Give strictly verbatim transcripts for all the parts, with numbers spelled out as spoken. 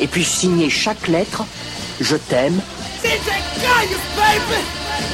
et puis signer chaque lettre « Je t'aime ». D J Gaius, baby!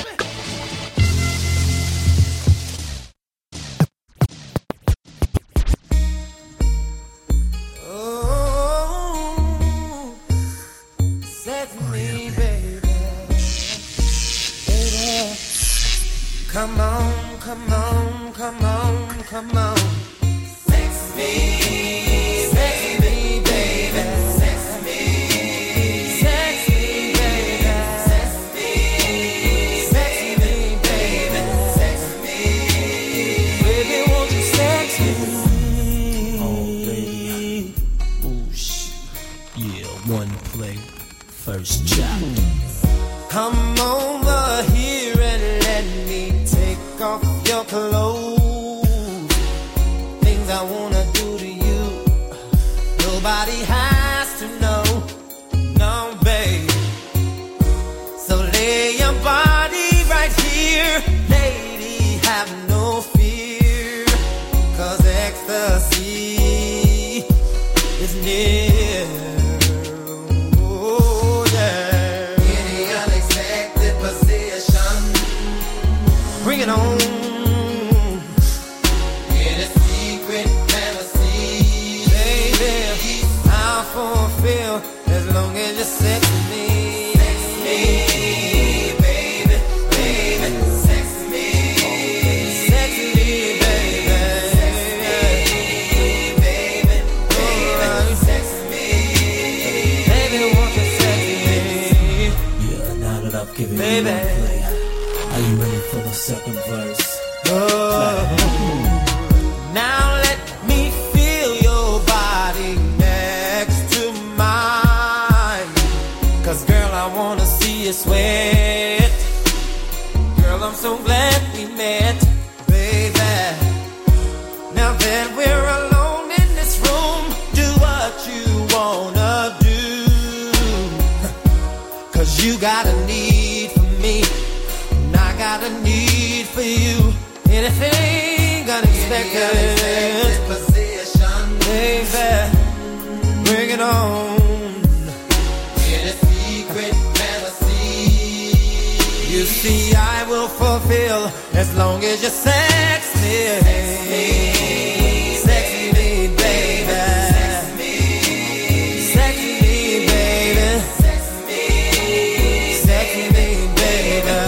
Come on, come on, come on, come on. Sex me, sex me, baby. Sex me, sex me, baby. Sex me, sex me, baby. Sex me, baby, won't you sex me? Oh, baby. Ooh, shit. Yeah, one play, first job. Come over here and let me take off your clothes. Things I wanna do to you, nobody has to know. No, babe. So lay your body right here, lady, have no fear, 'cause ecstasy is near. Oh, yeah. Bring it on. In a secret fantasy, baby, I'll fulfill as long as you sex me. Sex me, baby, baby, sex me, sex me, baby, sex me, baby, baby, sex me, baby, won't you sex me? Yeah, now that I've given baby. You one play, are you ready for the second verse? Oh, now let me feel your body next to mine. 'Cause girl, I wanna see you sweat. Girl, I'm so glad we met, baby. Now that we're alone in this room, do what you wanna do. 'Cause you got a need for me, I got a need for you. Anything unexpected, unexpected position, baby, bring it on. In a secret fantasy, you see I will fulfill as long as you sex me. Sex me, sex me, baby. Sex me, sex me, baby. Sex me, sex me, baby.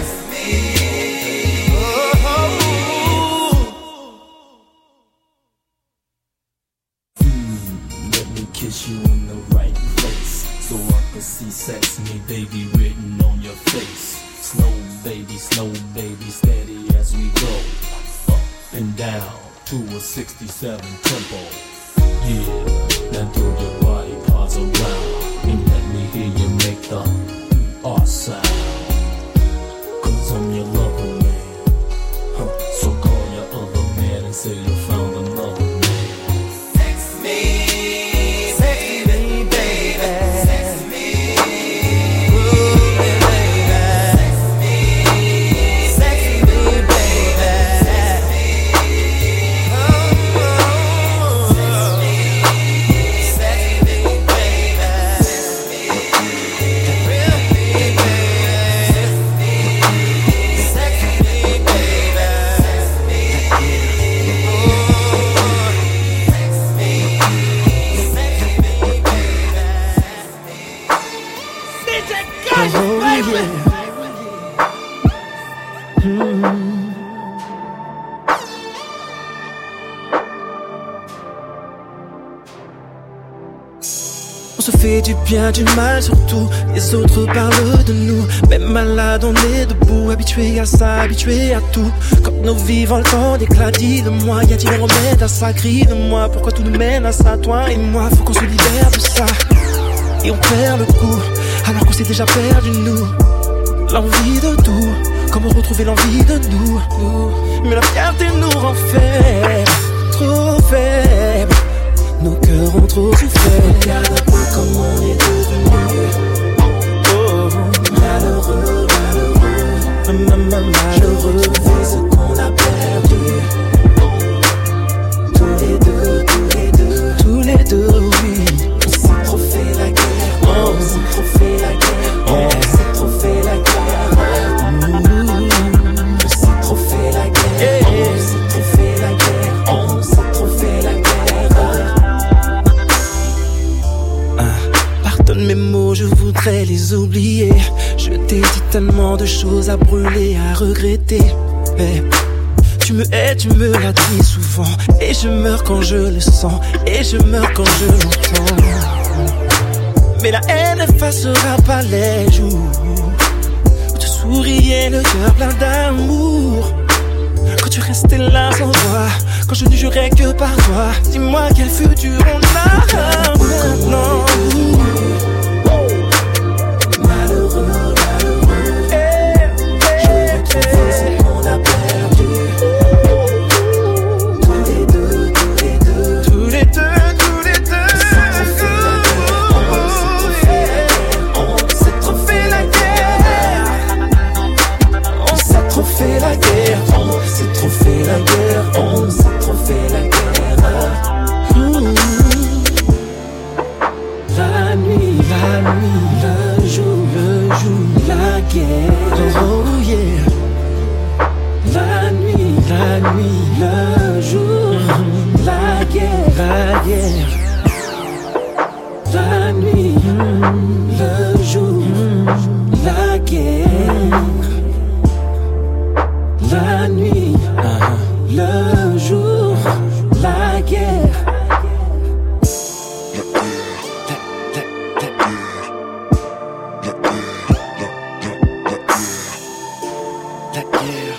Kiss you in the right place, so I can see sex me, baby, written on your face. Slow, baby, slow, baby, steady as we go. Up and down to a sixty-seven tempo. Yeah, now throw your body parts around and let me hear you make the R sound. 'Cause I'm your lover, man. Huh. So call your other man and say you found another man. Sex me. On se fait du bien, du mal surtout. Les autres parlent de nous. Même malade on est debout, habitué à ça, habitué à tout. Quand nos vies volent en éclat, dis-le-moi, y a-t-il un remède à ça? Crie-le-moi, pourquoi tout nous mène à ça? Toi et moi, faut qu'on se libère de ça. Et on perd le coup, alors qu'on s'est déjà perdu nous. L'envie de tout, comment retrouver l'envie de nous, nous. Mais la fierté nous rend faibles, trop faibles. Nos cœurs ont trop souffert. Regarde un peu comme on est devenu. Oh, malheureux, malheureux, malheureux. C'est ce qu'on a perdu. Tous les deux, tous les deux, tous les deux, oui. On s'est trop fait la guerre. mots, je voudrais les oublier. Je t'ai dit tellement de choses à brûler, à regretter. Mais tu me hais, tu me l'as dit souvent. Et je meurs quand je le sens, et je meurs quand je l'entends. Mais la haine n'effacera pas les jours où tu souriais, le cœur plein d'amour. Quand tu restais là sans voix, quand je ne jurais que par toi. Dis-moi quel futur on a maintenant. Malheureux, malheureux, je retrouve ce qu'on a perdu. Tous les deux, tous les deux, tous les deux, tous les deux. On s'est trop fait la guerre, on s'est trop fait la guerre, on s'est trop fait la guerre, on s'est trop fait la guerre. Mmh. La nuit, la nuit, le jour, le jour, la guerre. Oh yeah. La nuit, la nuit, le jour, mmh. La guerre, La guerre. la nuit, mmh. Le jour, mmh. La guerre. La nuit, Uh-huh. le jour, la guerre. La guerre.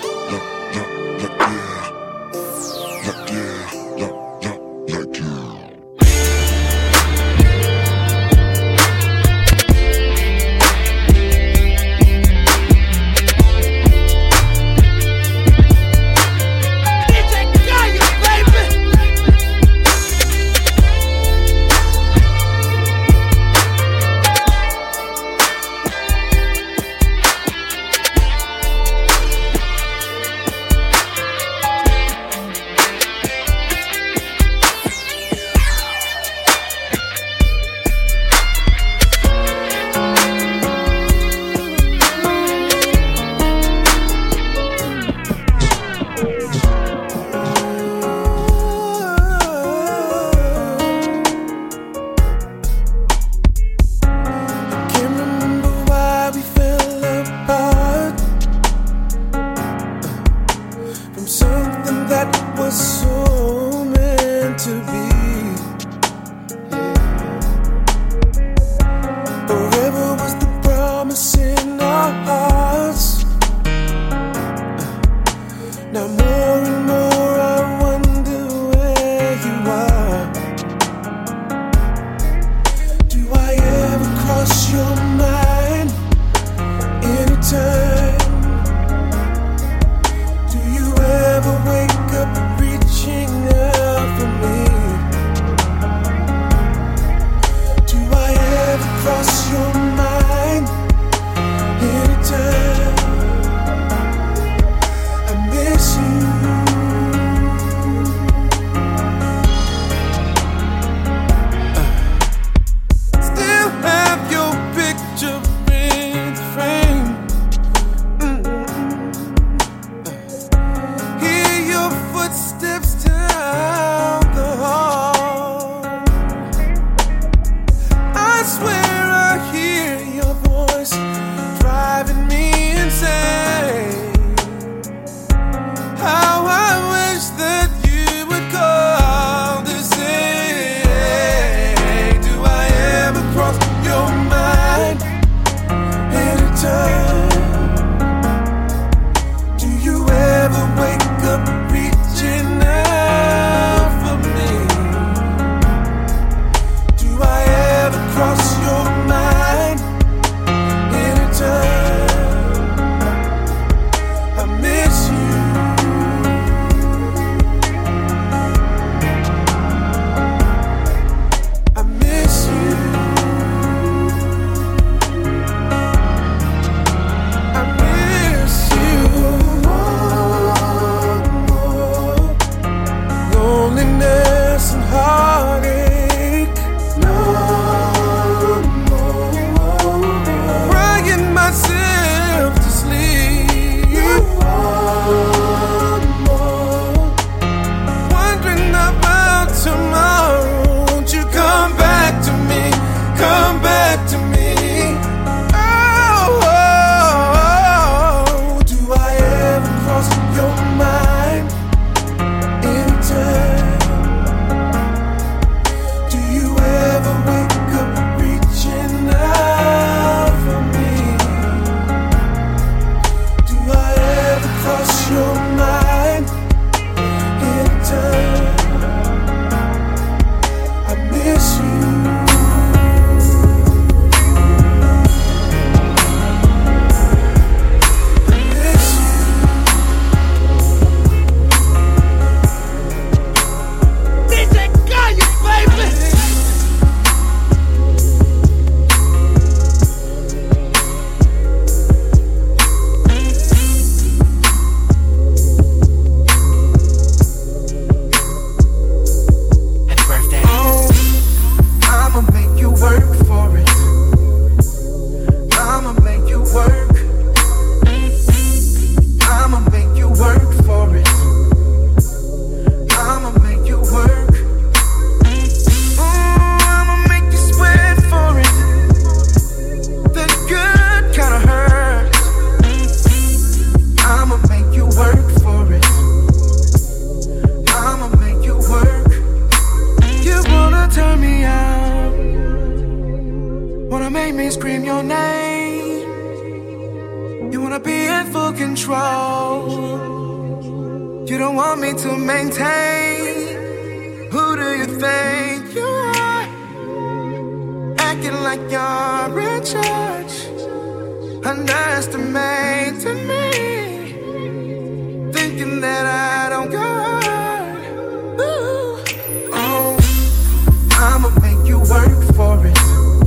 wanna make me scream your name. You wanna be in full control. You don't want me to maintain. Who do you think you are? Acting like you're in charge, underestimating me, thinking that I don't go hard. Ooh. Oh, I'ma make you work for it.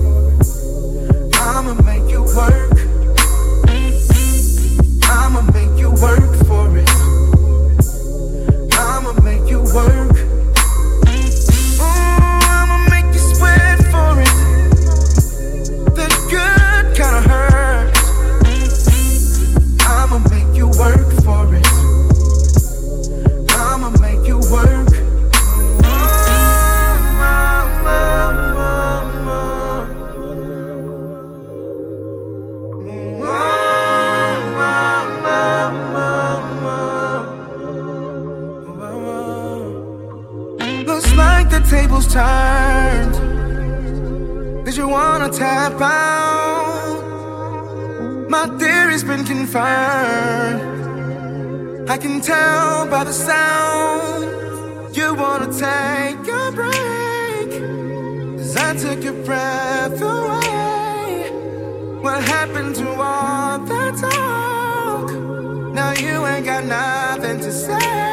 I'ma make you work. I'ma make you work for it. I'ma make you work. Ooh, I'ma make you sweat for it. The good kinda hurts. I'ma make you work for it. I'ma make you work. Looks like the tables turned. Did you wanna tap out? My theory's been confirmed. I can tell by the sound. You wanna take a break, 'cause I took your breath away. What happened to all that talk? Now you ain't got nothing to say.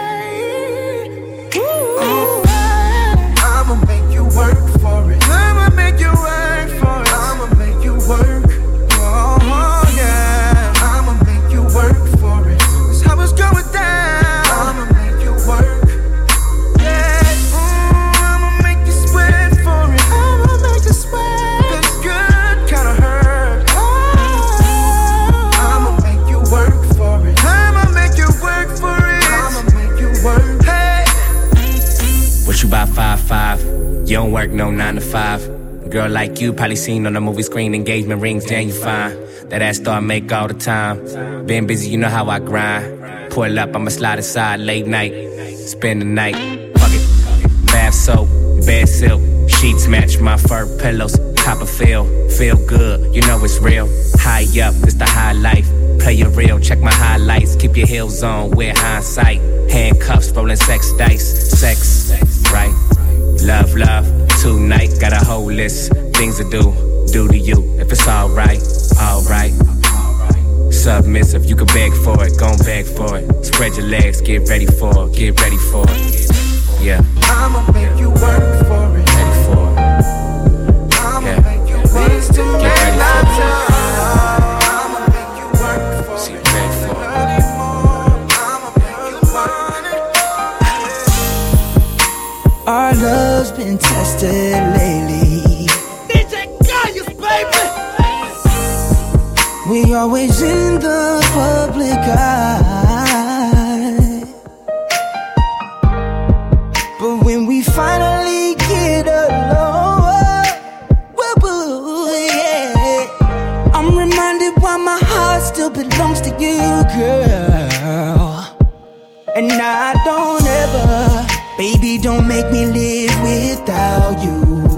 Ooh. I'ma make you work for it. I'ma make you work for it. I'ma make you work. Oh, oh yeah. I'ma make you work for it. That's how it's going down. I'ma make you work. Yeah. Ooh, I'ma make you sweat for it. I'ma make you sweat. That's good kinda hurt. Oh, I'ma make you work for it. I'ma make you work for it. I'ma make you work. Hey. What you about five five? You don't work no nine to five. A girl like you probably seen on the movie screen, engagement rings, damn you fine. That ass start make all the time. Been busy, you know how I grind. Pull up, I'ma slide aside late night. Spend the night, fuck it. Bath soap, bed silk, sheets match my fur pillows. Copperfield, feel good, you know it's real. High up, it's the high life. Play it real, check my highlights. Keep your heels on, wear hindsight. Handcuffs, rolling sex dice. Sex, right? Love, love, tonight. Got a whole list, things to do. Do to you, if it's alright, alright. Submissive, you can beg for it, gon' beg for it. Spread your legs, get ready for it, get ready for it. Yeah. I'ma make you work for it. Ready for it. I'ma Yeah. make you work to Get make ready love for to. it. I'ma make you work for See, it. ready for it. I'ma make you want it. Our love's been tested lately. D J Gaius, baby! We always in the public eye, but when we finally get alone, woo, woo, yeah, I'm reminded why my heart still belongs to you, girl. And I don't ever, baby, don't make me live without you.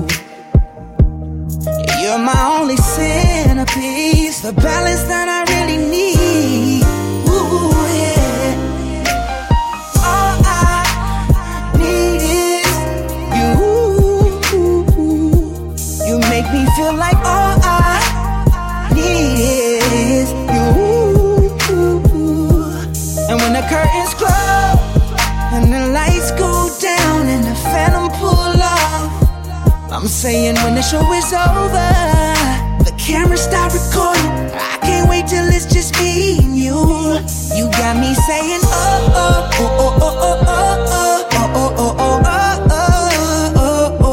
You're my only centerpiece, the balance that I really need. Ooh, yeah. All I need is you. You make me feel like all I need is you. And when the curtains close and the lights go down and the phantom pull off, I'm saying when the show is over, the camera stop recording. I can't wait till it's just me and you. You got me saying oh oh oh oh oh oh oh oh oh oh oh oh oh oh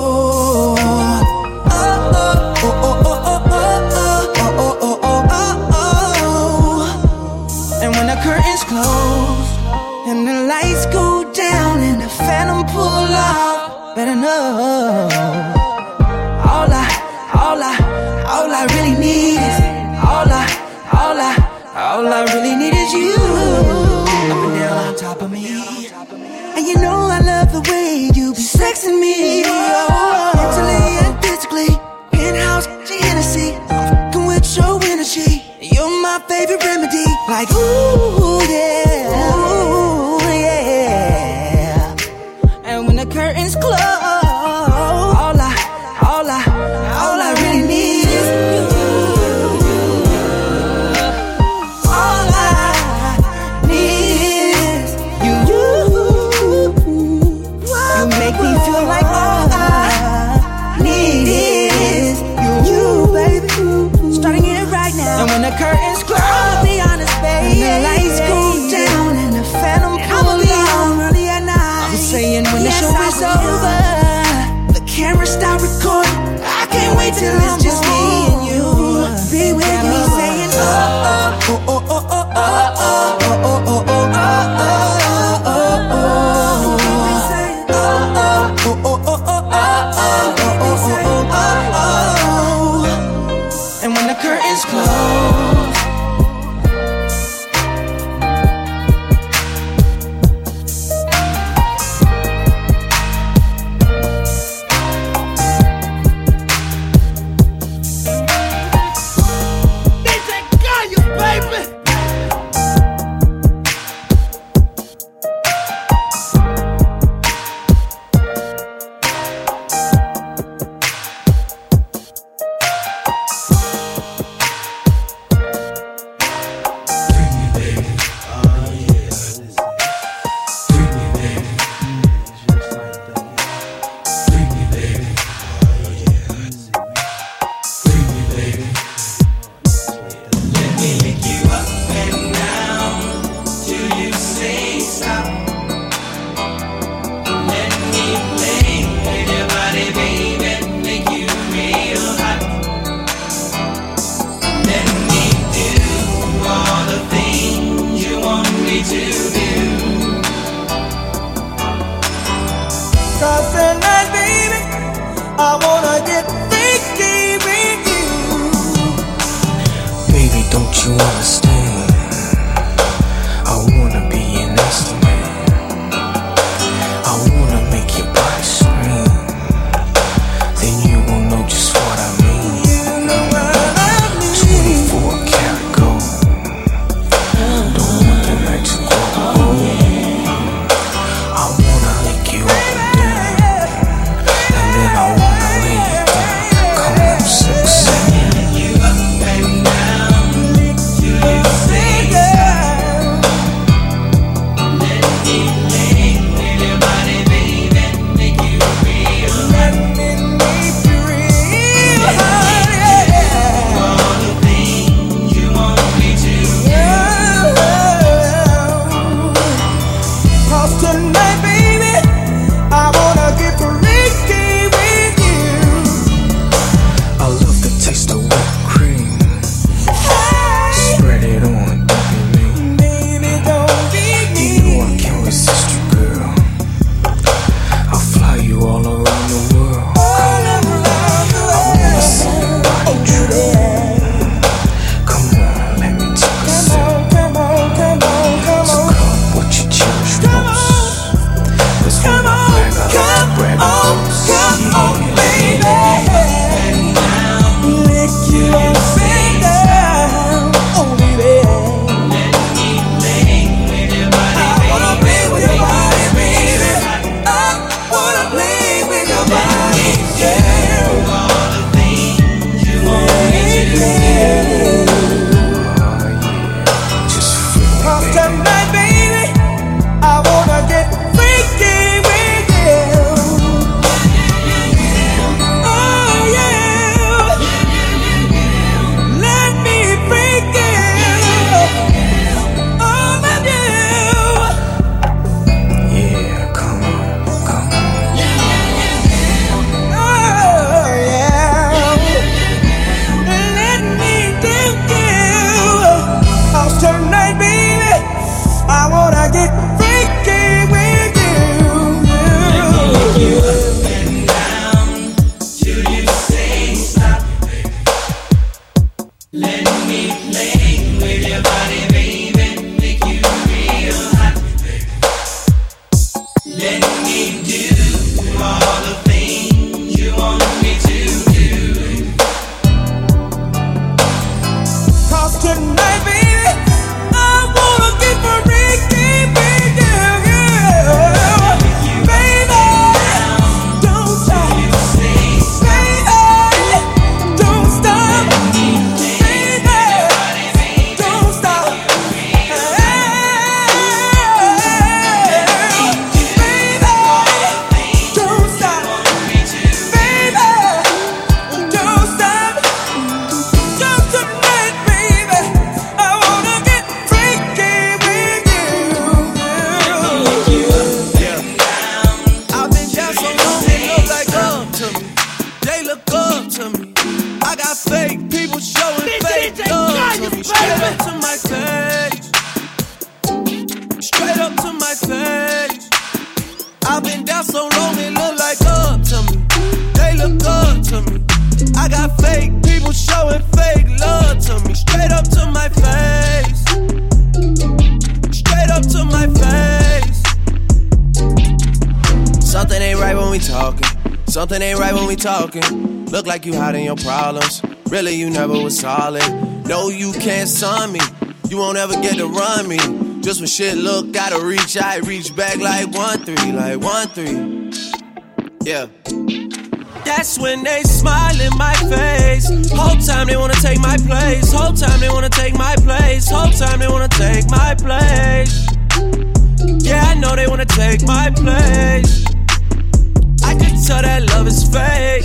oh oh. And when the curtains close and the lights go down and the phantom pull off, better know all I, all I, all I really need is all I, all I, all I really need is you. Up and down on top of me, and you know I love the way you be sexing me, oh, mentally and physically. In-house Hennessy, favorite remedy. Like, ooh, yeah, ooh, yeah. And when the curtains close, all I, all I, all I really need is you. All I need is you. You make me feel like all I need is you, baby. Starting it right now. And when the curtains close, I'll be honest, baby. And the lights go down and the phantom pull on early at night. I'm saying when yes, the show is over, the camera stop recording. I can't wait till it's just me and you. Be with me saying oh oh oh oh oh oh oh oh oh oh oh oh. And when the curtains close, come on, baby. Lick baby. Straight up to my face. Straight up to my face. I've been down so long it look like up to me. They look up to me. I got fake people showing fake love to me. Straight up to my face. Straight up to my face. Something ain't right when we talking. Something ain't right when we talking. Look like you hiding your problems. Really you never was solid. No, you can't son me. You won't ever get to run me. Just when shit look, gotta reach, I reach back like one three, like one three. Yeah. That's when they smile in my face. Whole time they wanna take my place. Whole time they wanna take my place. Whole time they wanna take my place. Yeah, I know they wanna take my place. I can tell that love is fake.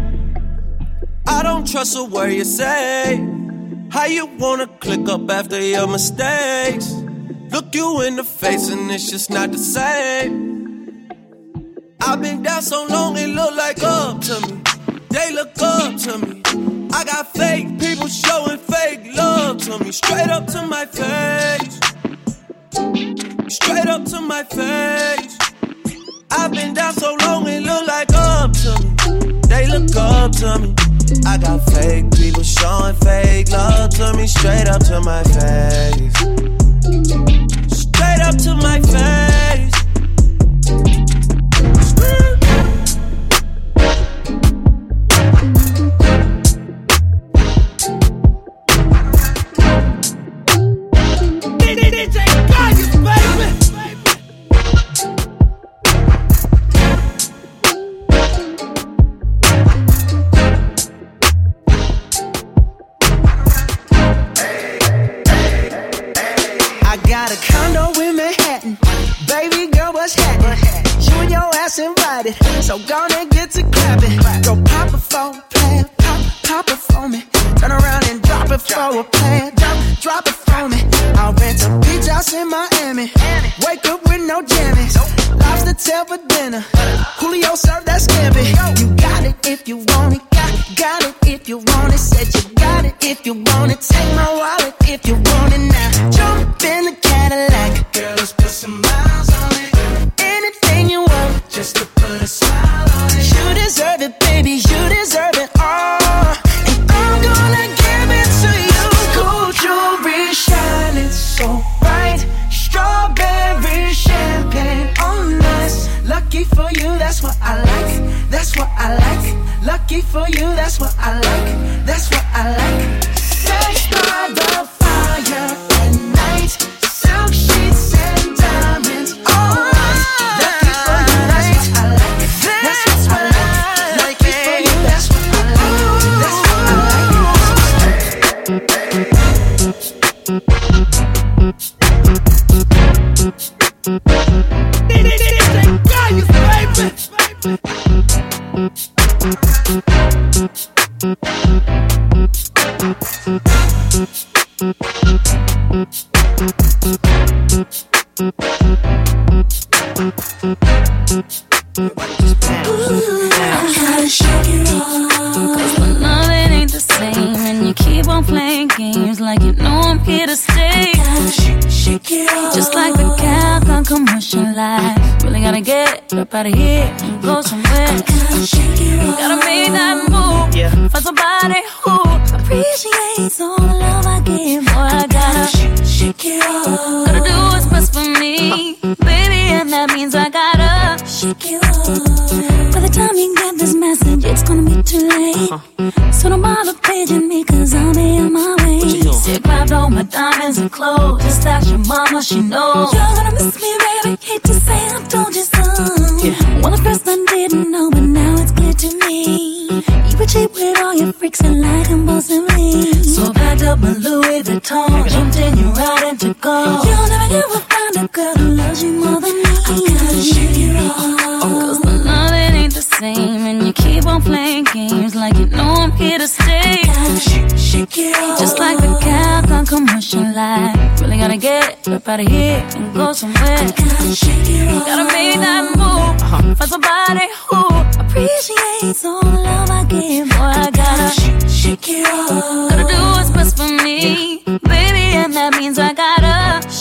I don't trust a word you say. How you wanna click up after your mistakes? Look you in the face and it's just not the same. I've been down so long it look like up to me. They look up to me. I got fake people showing fake love to me. Straight up to my face. Straight up to my face. I've been down so long it look like up to me. They look up to me. I got fake people showing fake love to me. Straight up to my face. Straight up to my face. D J Gaius, baby. Got a condo in Manhattan. Baby girl, what's happening? You and your ass invited, so gonna get to clapping. Go pop it for a plan, pop, pop it for me. Turn around and drop it for a plan, drop, drop it for me. I'll rent a beach house in Miami. Wake up with no jammies. Lobster tail for dinner. Julio served that scampi. You got it if you want it. Got, got it if you want it. Said you got it if you want it. Take my wallet if you want it now. Jump in the Cadillac. Girl, let's put some miles on it. Anything you want, just to put a smile on it. You deserve it, baby. You deserve it all. And I'm gonna give it to you. Gold jewelry shining so bright. Strawberry champagne on us. Lucky for you, that's what I like. That's what I like. Lucky for you, that's what I like. That's what I like. Sex by the fire at night. Silk sheets and diamonds on us. Lucky for you, that's what I like. That's what I like. Lucky for you, that's what I like. That's what I like. D J Gaius, baby. I gotta shake it off, 'cause my love it ain't the same, and you keep on playing games like you know I'm here to stay. Shake, shake it off. Just like the cow on commercial life. Really gotta get up out of here and go somewhere. Gotta shake it off. Gotta make that move, yeah. Find somebody who appreciates all the love I give. Boy, I gotta shake, shake it off. Gotta do what's best for me, baby, and that means I gotta shake it off. By the time you get this message, it's gonna be too late. Uh-huh. So don't bother paging me, 'cause I'll be on my way. Sit, grabbed all my diamonds and clothes. Just ask your mama, she knows. You're gonna miss me, baby. Hate to say I told you so. Yeah. Well, at first I didn't know, but now it's clear to me. You were cheap with all your freaks and like impulsively. So I packed up my Louis Vuitton, jumped in your ride and took off. You'll never ever find a girl who loves you more than me. I gotta shake it off. 'Cause my love it ain't the same, and you keep on playing games like you know I'm here to stay. Gotta shake, shake it off. Just like the cow on commercial life. Really gotta get up out of here and go somewhere. Gotta shake it off. Gotta make that move, uh-huh. Find somebody who appreciates all the love I give. Boy, I gotta shake, shake it off. Gotta do what's best for me,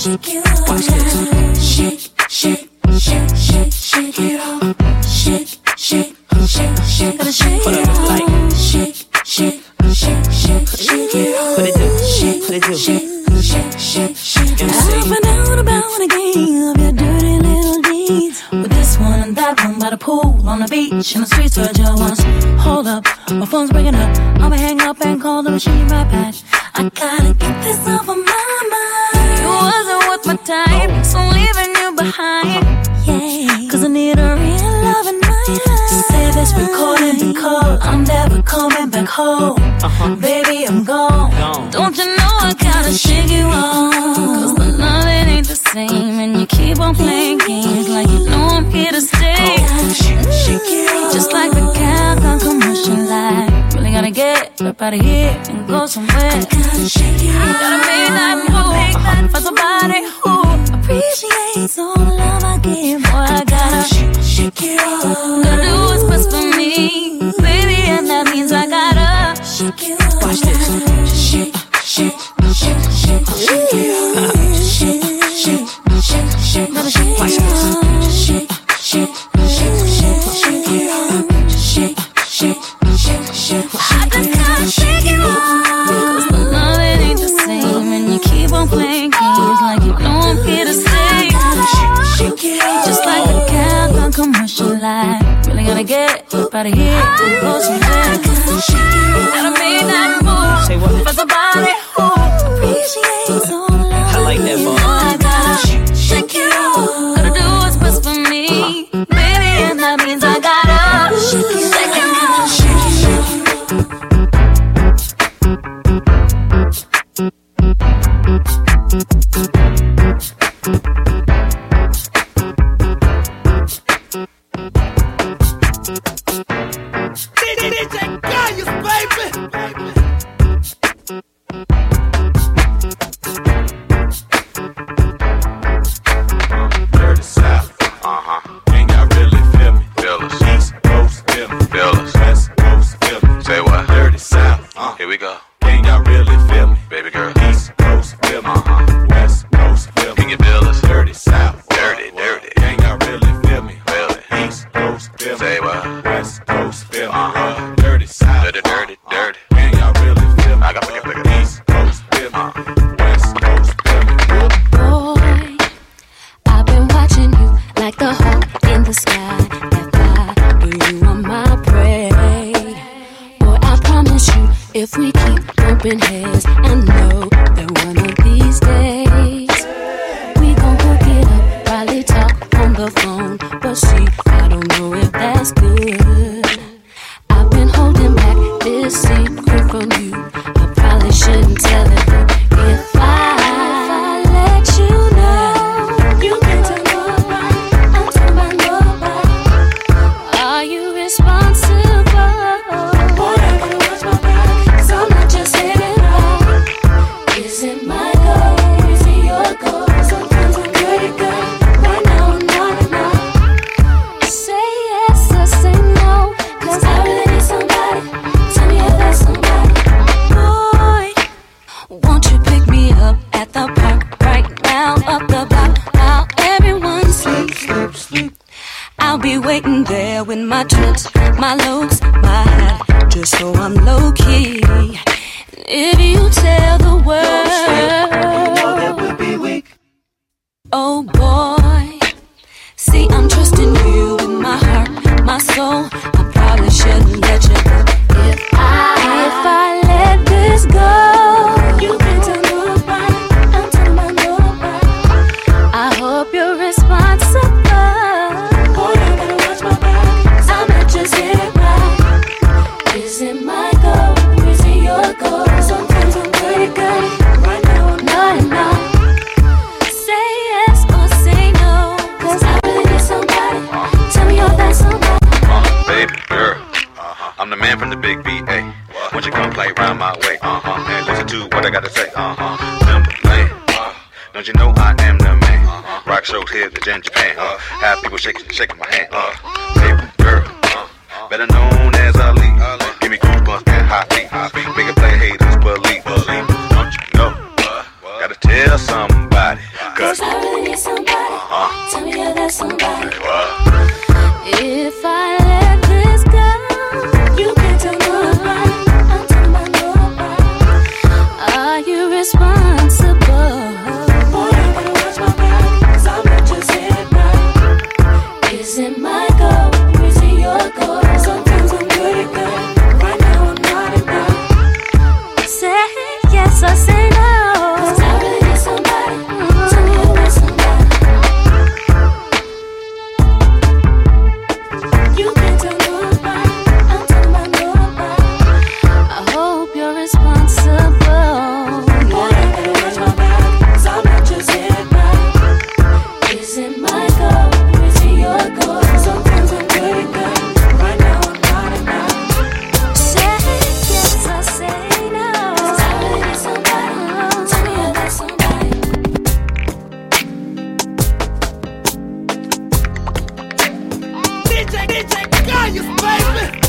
shake it off. Watch this. Shake, shake, shake, shake, shake it off. Shake, shake, shake, shake, gotta shake it off. Shake, shake, shake, shake, shake it off. What it do? Shake, What it do? shake, shake, shake, shake. M C. I found out about a game of your dirty little deeds. With this one and that one by the pool, on the beach, in the streets where Joe was. Hold up, my phone's breaking up. I'ma hang up and call the machine right back. I gotta get this off of my mind. You wasn't worth my time, so I'm leaving you behind. Yeah, cause I need a real love in my life. Say this recording because I'm never coming back home. Uh-huh. Baby, I'm gone. gone. Don't you know I gotta shake you off? Cause the loving ain't the same, and you keep on playing games like you know I'm here to stay. Oh, shake, shake it off. Just like the Calgon commercial line. Really gotta get up out of here and go somewhere. I gotta shake it off. Gotta make that move for somebody who appreciates all the love I give. Boy, I gotta shake, shake it off. Gotta do what's best for me, baby, and that means I gotta shake it off. Watch this. Shake, shake, shake, shake, shake it off. Shake, shake, shake, shake, gotta shake it off. Shake, shake, shake, shake, shake it off. Shake, shake, shake, shake, I just gotta shake it off. Cause the love it ain't the same, and you keep on playing games like you know I'm here to stay. Shake it off. Just like a Calgon commercial line. Really gotta get up out of here and go somewhere. Gotta make that move. Say what? For somebody who appreciates all the love I like that bar. I gotta shake it off. Gotta do what's best for me, baby, and that means I gotta shake it off. Shake it off. D J Gaius, baby. Dirty South, uh-huh. Can y'all really feel me? Feel us. East Coast, feel me. Feel us. West Coast, feel me. Say what? Dirty South, uh. Here we go. Can y'all really feel me? Baby girl. East Coast, feel me. Uh-huh. West Coast, feel me. Can you feel us? Dirty South, dirty, dirty. Can y'all really feel me? Feel it. East Coast, feel me. Say what? West Coast, feel me. Uh-huh. Dirty South, dirty, dirty, dirty. Can y'all really feel me? I got to pick it. East Coast, feel me. West Coast, feel me. Boy, I've been watching you like the hawk in the sky. That fly, but you are my prey. Boy, I promise you, if we keep bumping heads, I know that one of these days we gon' hook it up, probably talk on the phone. But see, I don't know if that's good. I've been holding back this secret from you. I probably shouldn't tell it, but if I, if I let you know, you can tell nobody, I'm told by nobody. Are you responsible? Boy, I gotta watch my back, 'cause I'm not just hitting right. Is it my goal? Is it your goal? Sometimes I'm pretty good, right now I'm not enough. Say yes or say no, 'cause I really need somebody. Tell me if that's somebody. Boy, won't you pick me up at the park right now, up the block while everyone sleeps? Sleep, sleep. I'll be waiting there with my trips, my looks, my hat, just so I'm low key. If you tell the world, you know that we'll be weak. Oh boy, see I'm trusting you with my heart, my soul. I probably shouldn't let you go. If I, if I let this go, you can tell nobody, I'm telling my nobody. I hope you're responsible. Boy, I gotta watch my back, 'cause I'm not just here right. Is it my goal? Is it your goal? Sometimes I'm pretty good, right now I'm not enough. Say yes or say no, 'cause I really need somebody. Tell me you're that somebody. Uh, baby girl, uh-huh. I'm the man from the big B A. Won't you come play round my way? Uh-huh. And listen to what I gotta say. Uh-huh. Timberland. Uh, don't you know I am the man? Uh-huh. Rock shows here in Japan. Uh, have people shaking, shaking my hand. Uh, baby girl, uh, better known as Ali. Uh, give me goosebumps and hot feet. Make it play haters believe. Don't you know? Gotta tell somebody. responsible. Boy, I better watch my back, 'cause I'm not just here back. Is it my goal? Is it your goal? Sometimes I'm good at that. Right now I'm not enough. Say yes or say no. Tell me there's somebody. Tell me there's somebody. D J, D J, Gaius, baby.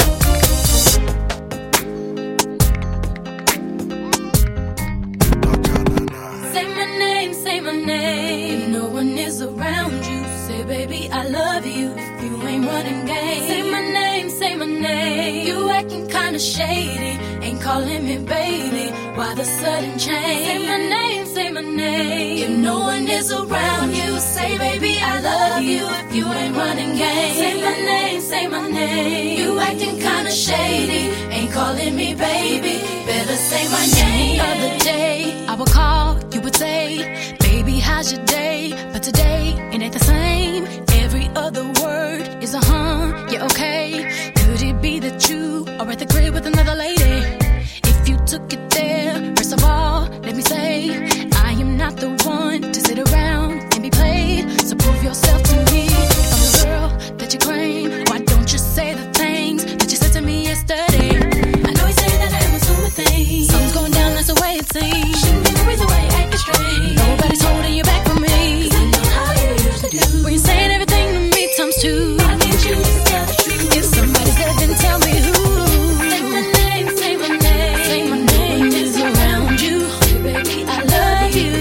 Say my name, say my name. If no one is around you, say baby I love you. If you ain't running game, say my name, say my name. You acting kinda shady, ain't calling me baby. Why the sudden change? Say my name, say my name. If no one is around you, say baby I love you. If you ain't running game, say my name, say my name. You acting kinda shady, ain't calling me baby. Better say my name. The other day I would call, you would say, baby how's your day? But today it ain't the same. Every other word is a huh, yeah okay. Could it be that you are at the crib with another lady? If you took it there, first of all, let me say, I am not the one to sit around and be played. So prove yourself to me. If I'm the girl that you claim, why don't you say the things that you said to me yesterday? I know you say that I'm assuming things. Something's going down, that's the way it seems. Shouldn't be the reason why you acting strange. Nobody's holding you back from me. 'Cause I know how you used to do. When you're saying everything to me times two. Why can't you just tell the truth? If somebody's dead, then tell me who. Say my name, say my name. Say my name is around you. Baby, I love you.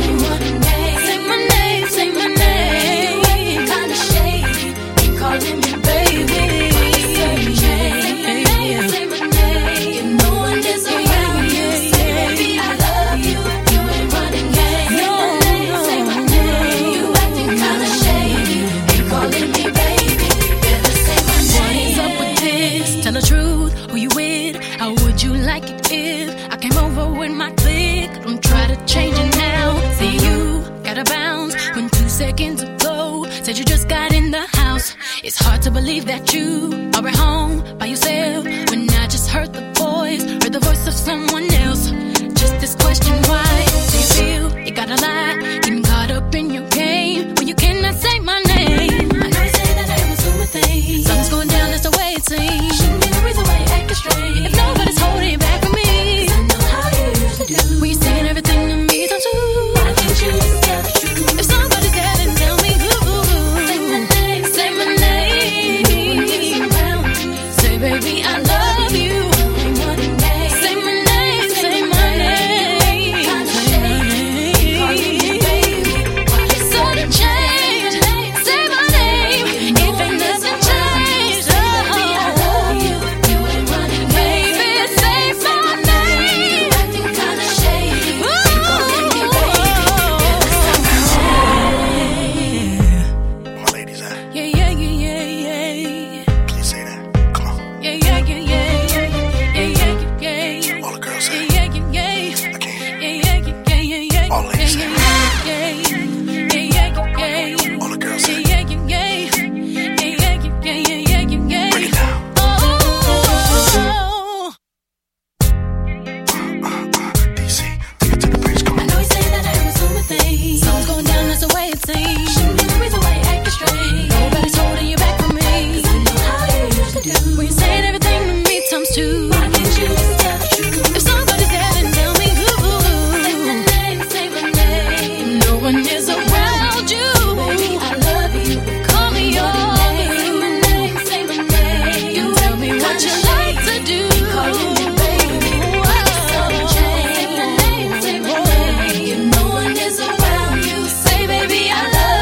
Say my name, say my name. You acting kinda shady, ain't calling me baby. Say my name, say my name. If no one is around you, say baby I love you. If you ain't running game, say my name, say my name. You acting kinda shady, ain't calling me baby. Better say my name. What is up with this? Tell the truth, who you with? How would you like it if I came over with my clique? Don't try to change it now. See you gotta bounce when two seconds ago said you just got in the house. It's hard to believe that you are at home by yourself when I just heard the voice, heard the voice of someone else. Just this question, why do you feel you gotta lie? Getting caught up in your game when you cannot say my name. I know you say that I'm assuming things. Something's going down, that's the way it seems. Shouldn't be the reason why you acting strange. If nobody's holding you back from me, 'cause I know how you used to do. When you're saying everything to me times two. Why can't you just tell the truth? If somebody's dead, then tell me who. Say my name, say my name. Say baby I love you. Say my name, say my name. Sudden change. Say my name. If ain't nothing changed, oh, baby, say my name. Acting kinda shady. My ladies at? Yeah, yeah, yeah, yeah, yeah. Can you say that? Come on. Yeah, yeah, yeah, yeah, yeah, yeah, yeah, yeah. All the girls say Yeah, yeah, yeah, yeah. I can't. Yeah, yeah, yeah, yeah, yeah. All ladies say Yeah, yeah, yeah, yeah, yeah. All the girls say Yeah, yeah, yeah, yeah. Yeah, yeah, yeah, yeah, yeah, yeah, yeah. break it down. Oh, D C, take it to the bridge. Come I on. know you say that I'm assuming things. Something's going down, that's the way it seems. Shouldn't be the reason why you acting strange. Nobody's holding you back from me. 'Cause I know how you used to do. When you're saying everything to me times two. Why can't you just tell the truth? If somebody's dead, then tell me who. Say my name, say my name. No one is around you. Baby, I love you. Call me yours. Say my name, say my name. You tell me what you like to do. Calling me baby. Sudden change. Say my name, say my name. If no one is around you, say baby I love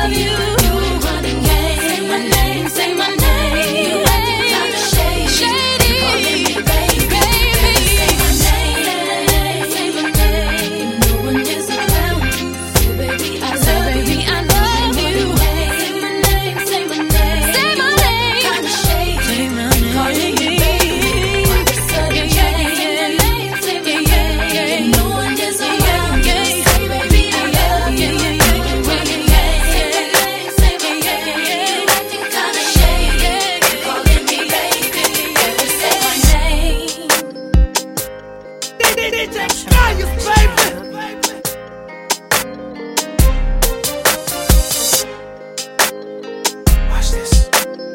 D J Kayus, baby. Watch this.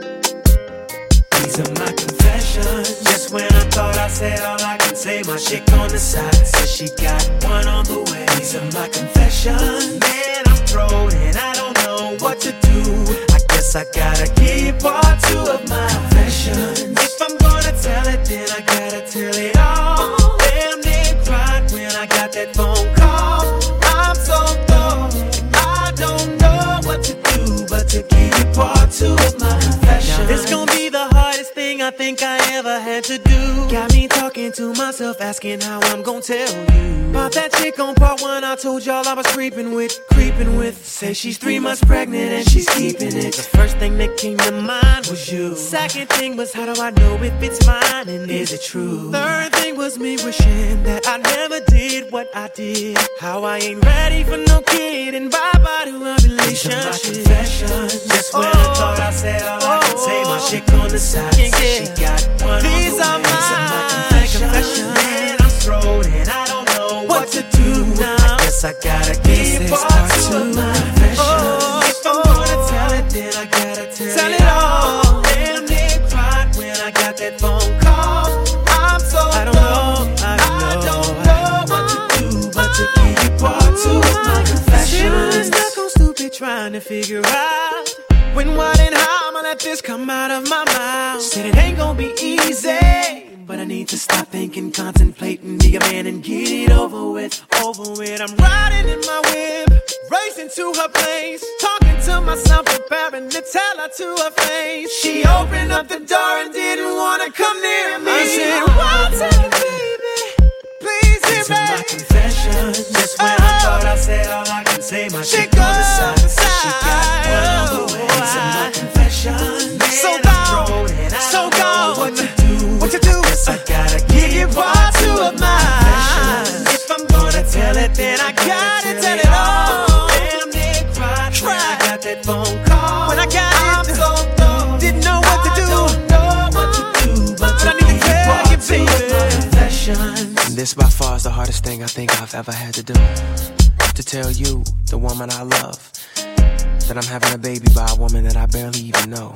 These are my confessions. Just when I thought I said all I can say, my chick on the side says she got one on the way. These are my confessions. Man, I'm thrown and I don't know what to do. I guess I gotta keep part two of my confessions. If I'm gonna tell it, then I gotta tell it all. Damn, they cried when I got that phone call. I'm so thrown, I don't know what to do but to keep part two of my confessions. It's gonna be the hardest thing I think I ever had to do. Got me talking to myself, asking how I'm gonna tell you about that chick on part one I told y'all I was creeping with, creeping with. Say she's three months pregnant and she's keeping it. The first thing that came to mind was you. Second thing was, how do I know if it's mine and is it true? Third thing was me wishing that I never did what I did. How I ain't ready for no kid and bye-bye to a relationship. These are my confessions. Just when oh, I thought I said all oh, I can say, my chick on the side yeah, yeah. She got one These on the way. These are my confessions. confessions. Man, I'm thrown and I don't know what, what to do now. I guess I gotta keep part two of my confessions. Oh, if I'm gonna tell it, then I gotta tell, tell it, it all. Damn, they cried when I got that phone call. I'm so I don't know, I don't, I don't know, know what to do but to keep part two of my confessions. I'm stuck on stupid trying to figure out when, what, and how I'ma let this come out of my mouth. Said it ain't gonna be easy, but I need to stop thinking, contemplating, be a man and get it over with, over with. I'm riding in my whip, racing to her place, talking to myself, preparing to tell her to her face. She opened up the door and didn't wanna come near me. I said, one time, baby, please hear me. These are my confessions. Just when I thought I said all I can say, my chick on the side said she got one on the way. These are my confessions. Man, so gone, so gone. What to do? What to do? Yes, I gotta give you part two of mine. If I'm gonna tell it, then I gotta tell it all. Damn, they cried when I got that phone call. When I got it, I'm so thrown. Didn't know what to do. I don't know what to do, but I need to tell you, baby. And this by far is the hardest thing I think I've ever had to do. To tell you, the woman I love, that I'm having a baby by a woman that I barely even know.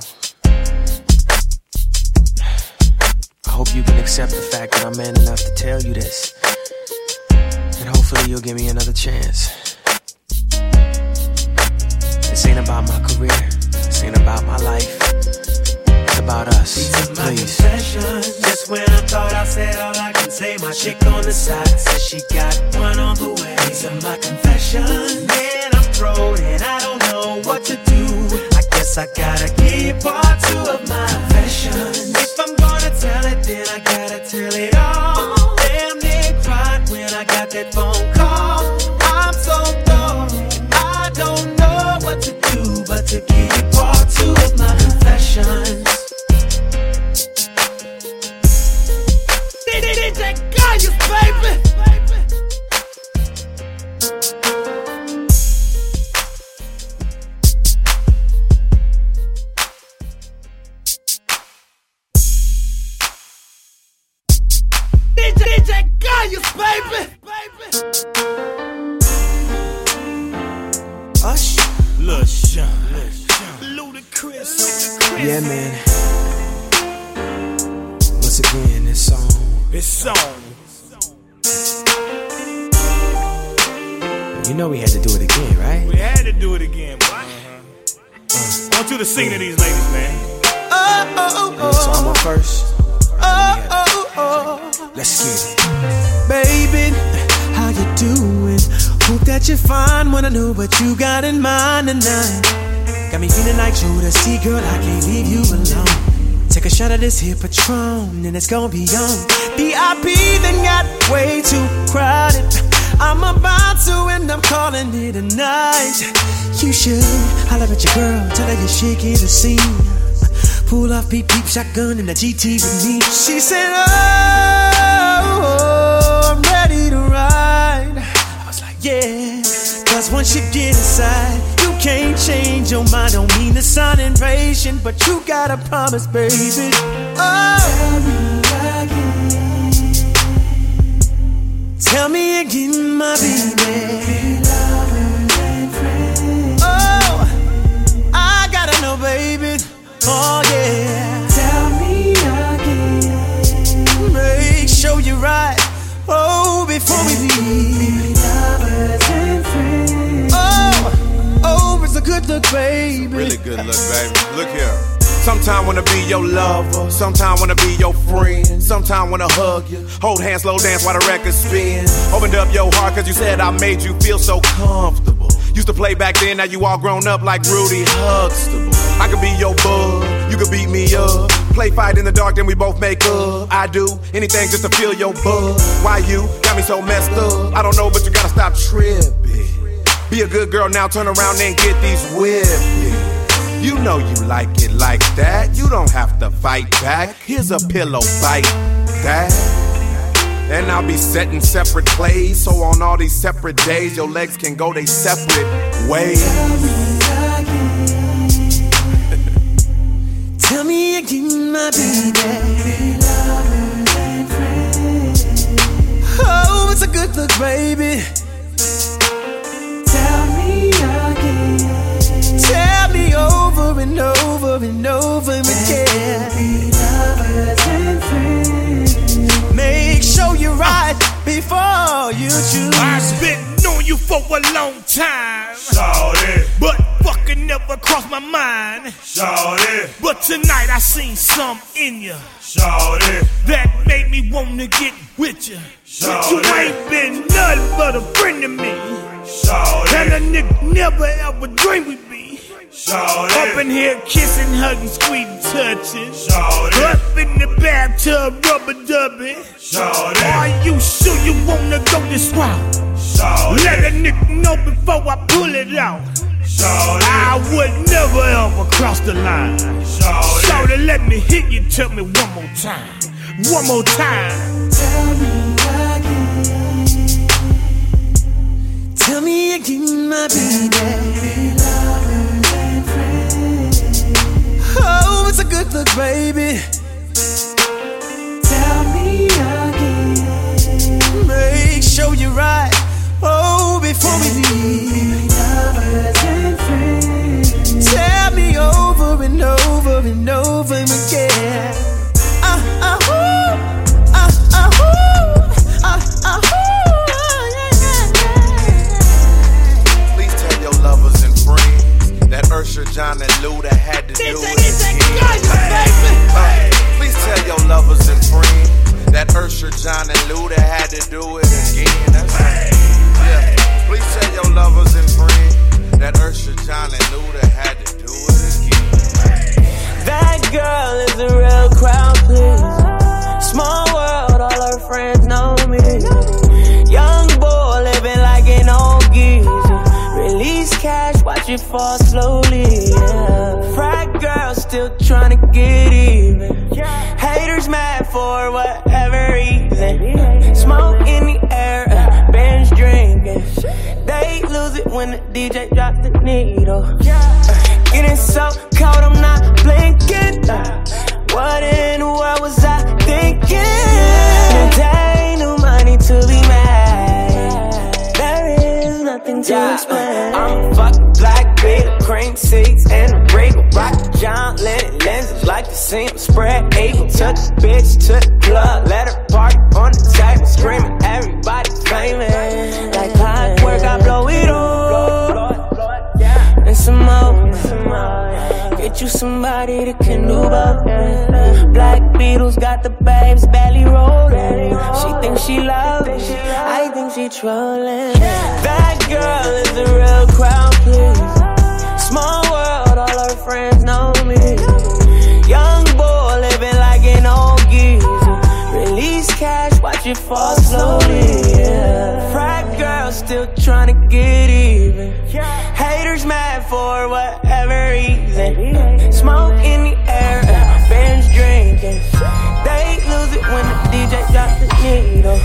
I hope you can accept the fact that I'm man enough to tell you this, and hopefully you'll give me another chance. This ain't about my career, this ain't about my life, it's about us. These are my please. Confessions. Just when I thought I said all I can say, my chick on the side says she got one on the way. These are my confessions. Man, I'm thrown and I don't know what to do. I guess I gotta keep part two of my confessions. If I'm gonna tell it, then I gotta tell it all. Damn, they cried when I got that phone call. I'm so thrown, I don't know what to do but to keep part two of my confessions. D J Kayus, baby. D J Kayus, baby. Ush, Lil Sean, Ludacris. Yeah, man. Once again, this song. This song. You know we had to do it again, right? We had to do it again, boy. Uh-huh. Uh. I want you to sing to these ladies, man. Oh, oh, oh, yeah, so I'm up first. Oh, oh, oh. Let's get it. Baby, how you doing? Hope that you're fine. Wanna know what you got in mind tonight. Got me feeling like Jodeci, girl, I can't leave you alone. Take a shot of this here Patron, and it's gonna be on V I P, then got way too crowded. I'm about to, and I'm calling it a night. You should holler at your girl, tell her you're shaking the scene. Pull off beep beep shotgun in the G T with me. She said, oh, oh, I'm ready to ride. I was like, yeah, cause once you get inside, you can't change your mind. Don't mean to sound impatient, but you gotta promise, baby. Oh, tell me again. again, my baby. Oh, I gotta know, baby. Oh yeah. Tell me again. Make sure you're right. Oh, before we leave. Lovers and friends. Oh, oh, it's a good look, baby. Really good look, baby. Look here. Sometime wanna be your lover, sometime wanna be your friend, sometime wanna hug you, hold hands, slow dance while the record spin. Opened up your heart cause you said I made you feel so comfortable. Used to play back then, now you all grown up like Rudy Huxtable. I could be your bud, you could beat me up. Play fight in the dark, then we both make up. I do anything just to feel your buzz. Why you got me so messed up? I don't know, but you gotta stop tripping. Be a good girl now, turn around and get these whipped. You know you like it like that. You don't have to fight back. Here's a pillow, bite that. And I'll be setting separate plays, so on all these separate days, your legs can go they separate ways. Tell me again, my baby. Oh, it's a good look, baby. Tell me again. Tell me over and over and over again. Lovers and friends. Make sure you're right before you choose. I've been knowing you for a long time, Shawty, but fucking never crossed my mind, Shawty. But tonight I seen some in you, Shawty, that made me wanna get with you. Shawty. You ain't been nothing but a friend to me, Shawty. and a nigga never ever dreamed we'd be. Shawty. Up in here kissing, hugging, squeezing, touching. Shawty. Up in the bathtub, rubber dubbing. Shawty. Are you sure you wanna go this route? Shawty. Let a nigga know before I pull it out. Shawty. I would never ever cross the line. Shawty. Shawty, let me hit you, tell me one more time. One more time. Tell me again. Tell me again, my baby. Oh, it's a good look, baby. Tell me again. Make sure you're right. Oh, before we leave. Lovers and friends. Tell me over and over and over again. Ah, ah, ooh. Ah, ah, ooh. Ah, ah, ooh. Please tell your lovers and friends that Usher, John, and Luda had to do it again. Uh, please tell your lovers and friends that Usher, John, and Luda had to do it again. That's right. Yeah. Please tell your lovers and friends that Usher, John, and Luda had to do it again. That girl is a real crowd, please. Small world, all her friends know me. Young boy living like an old geezer. Release cash, watch it fall slowly. Yeah. Frat girl still trying to get even. Haters mad for whatever reason. Smoke in the air, uh, binge drinking. They lose it when the D J drops the needle. Uh, getting so cold, I'm not blinking. Uh, what in the world was I thinking? There ain't no money to be mad. There is nothing to yeah, explain. I'm a fucking black beat, cream seats and a regal. Rock John Lennon lenses like the seam spread eagle. Took a bitch to the club, let her park on the table, screaming everybody famous. Like clockwork, I blow it all and some more. Get you somebody that can do both. Black Beatles got the babes belly rolling. She thinks she loves it, I think she trolling. That girl is a real crowd, please. Small world, all her friends know me. Young boy living like an old geezer. Release cash, watch it fall slowly. Yeah. Frat girl still trying to get even. Haters mad for whatever reason. Smoke in the air, uh, binge drinking. They lose it when the D J drops the needle.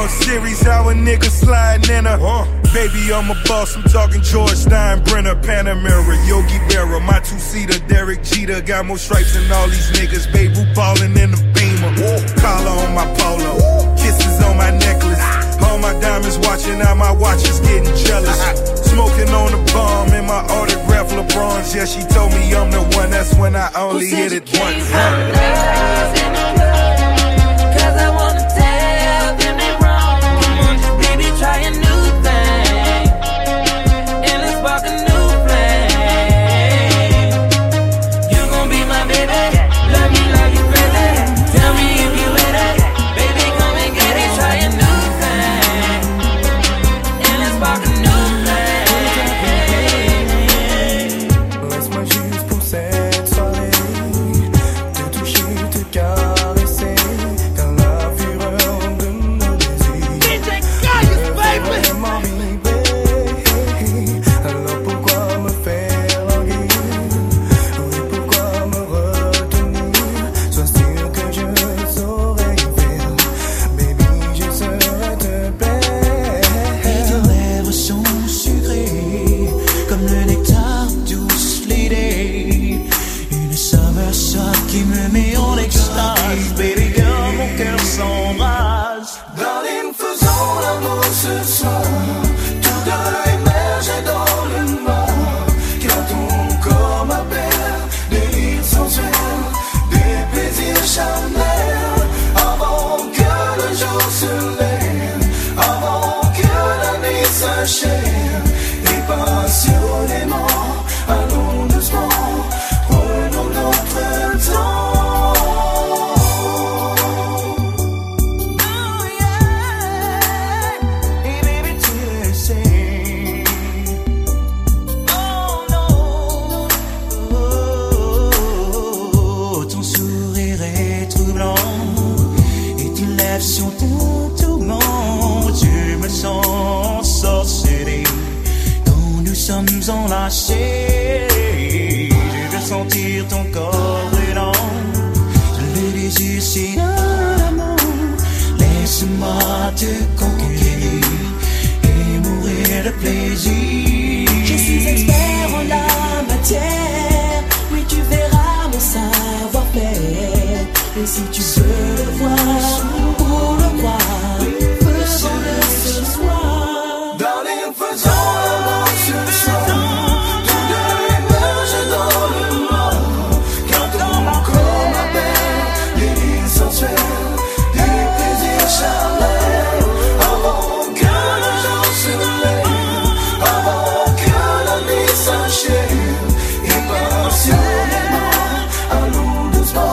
World Series, how a nigga sliding in her. Uh. Baby, I'm a boss, I'm talking George Steinbrenner, Panamera, Yogi Berra, my two-seater, Derek Jeter, got more stripes than all these niggas, babe, who ballin' in the Beamer, collar on my polo, kisses on my necklace, all my diamonds watching, now my watch is getting jealous, smoking on the bomb in my autograph LeBrons, yeah, she told me I'm the one, that's when I only hit it once. Cause I wanna tell them they wrong, baby, try a new thing, and let's spark a new flame. You gon' be my baby, love me like you crazy. Tell me if you with it, baby, come and get it. Try a new thing, and let's spark a new flame. Laisse-moi juste pour cette soirée te toucher, te caresser. Qui me met en extase, baby girl, mon cœur s'embrase. Darling, faisons l'amour ce soir, tous deux émerger dans le noir, car ton corps m'appelle, délire sensuel, des plaisirs charnels, avant que le jour se lève, avant que la nuit s'achève, et passionnément, allons doucement, prenons notre temps. Sur ton tourment, tu me sens sorcelé. Quand nous sommes enlacés, je veux sentir ton corps brûlant. Le désir, c'est un amour. Laisse-moi te conquérir et mourir de plaisir. Je suis expert en la matière. Oui, tu verras mon savoir-faire. Et si tu veux le voir, pour le voir, faisons-le ce soir. Darling, faisons l'amour ce soir, tous deux émerger dans le noir, car ton corps m'appelle, délire sensuel, des plaisirs charnels, avant que le jour se lève, avant que la nuit s'achève, et passionnément, allons doucement.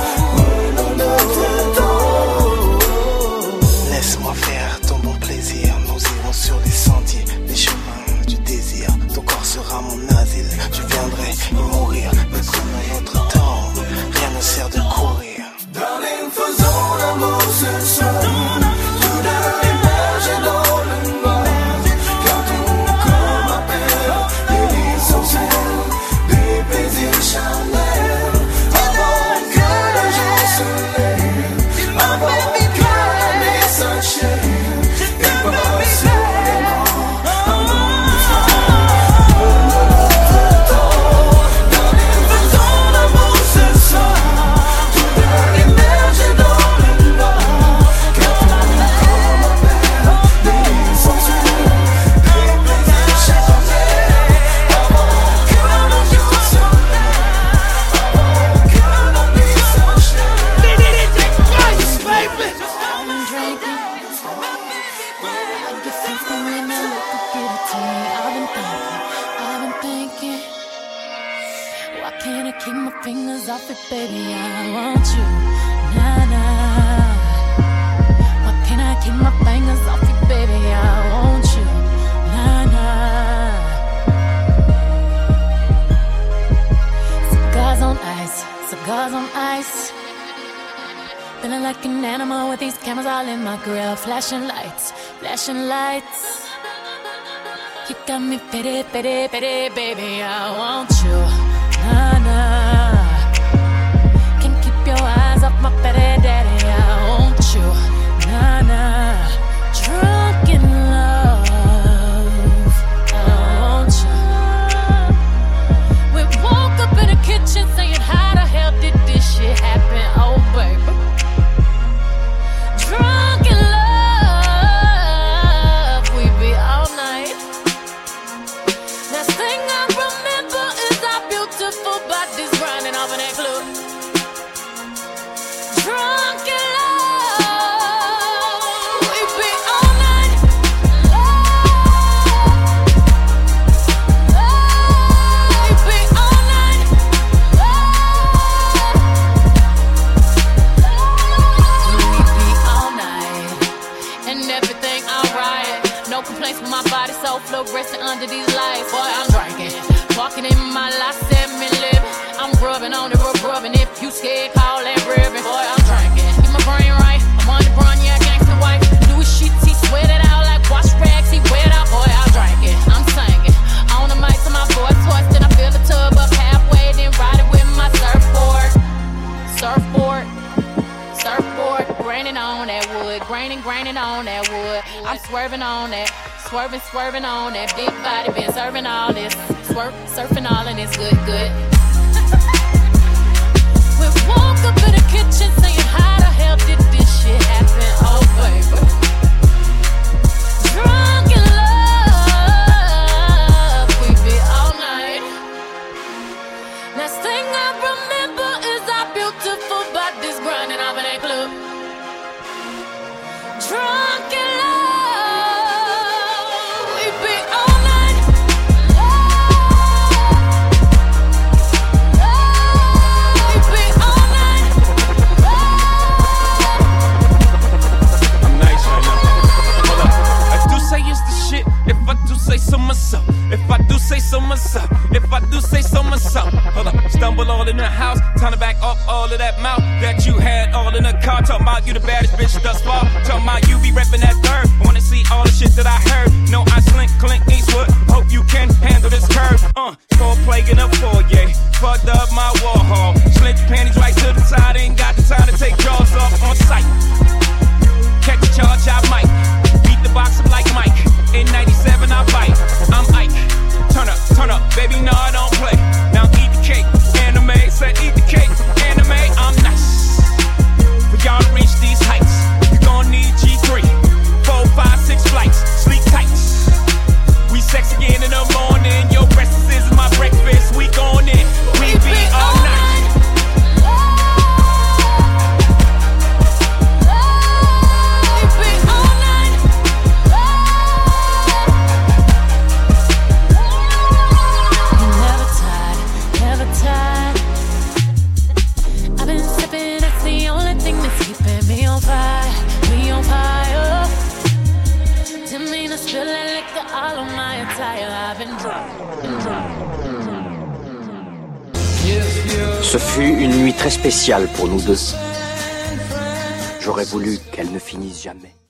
Laisse-moi faire ton bon plaisir. Nous irons sur les sentiers, les chemins du désir. Ton corps sera mon asile. Tu viendrais y mourir, mais prenons notre temps. Rien ne sert de courir. Darling, faisons l'amour ce soir, tous deux émerger dans le noir, car ton corps m'appelle, délire sensuel, des plaisirs charnels, avant que le jour se lève, avant que la nuit s'achève, et passionnément, allons doucement, prenons notre temps. Darling, faisons l'amour ce soir, tous deux émerger dans le noir, car ton corps m'appelle, délire sensuel, des plaisirs charnels, avant que le jour se lève, avant que la nuit s'achève. Why can't I keep my fingers off it, baby? I want you, nah, nah. Why can't I keep my fingers off it, baby? I want you, nah, nah. Cigars on ice, cigars on ice. Feeling like an animal with these cameras all in my grill. Flashing lights, flashing lights. You got me pity, pity, pity, baby. I want you, nah, nah. Can't keep your eyes off my pity, daddy. I want you, nah, nah. on the roof, rubbing. If you scared, call that ribbon. Boy, I'm drinking. Keep my brain right. I'm on the run, yeah, gangsta wife. Louis sheets, he sweat it out like wash rags. He wet out, boy, I'm drinking. I'm singing. On the mic to my voice hoarse, then I fill the tub up halfway, then ride it with my surfboard. Surfboard. Surfboard. Graining on that wood. Graining, graining on that wood. I'm swerving on that. Swerving, swerving on that big body. Been serving all this. Swerve, surfing all and it's good, good. We woke up in the kitchen saying, how the hell did this shit happen? Oh, baby. Drunk in love, we be all night. Last thing I remember is our beautiful bodies grinding off in that club. Drunk in love, we be all night. We be all night. I'm nice right now. Hold up. I do say it's the shit. If I do say so myself. If I do say so myself. If I do say so myself. Hold up. Stumble all in the house. Time to back up all of that mouth that you had all in the car. Talking about you the baddest bitch thus far. Talking about you be reppin' that third. Wanna see all the shit that I heard. No, I slink, Clint Eastwood. Hope you can handle this curve. Uh, cold plague in the foyer. Fucked up my wall hall. Slint your panties right to the side. Ain't got the time to take jaws off on sight. Catch a charge, I might. Beat the box up like Mike. In ninety-seven, I bite. I'm Ike. Turn up, turn up. Baby, no, I don't play. Now eat the cake. Anime, said eat the cake. Anime, I'm nice. For y'all to reach these heights, you gon' need G three. Four, five, six flights. Sleep tight. We sex again in the morning. Your breakfast is my breakfast. We gon' in. We be all night. Ce fut une nuit très spéciale pour nous deux. J'aurais voulu qu'elle ne finisse jamais.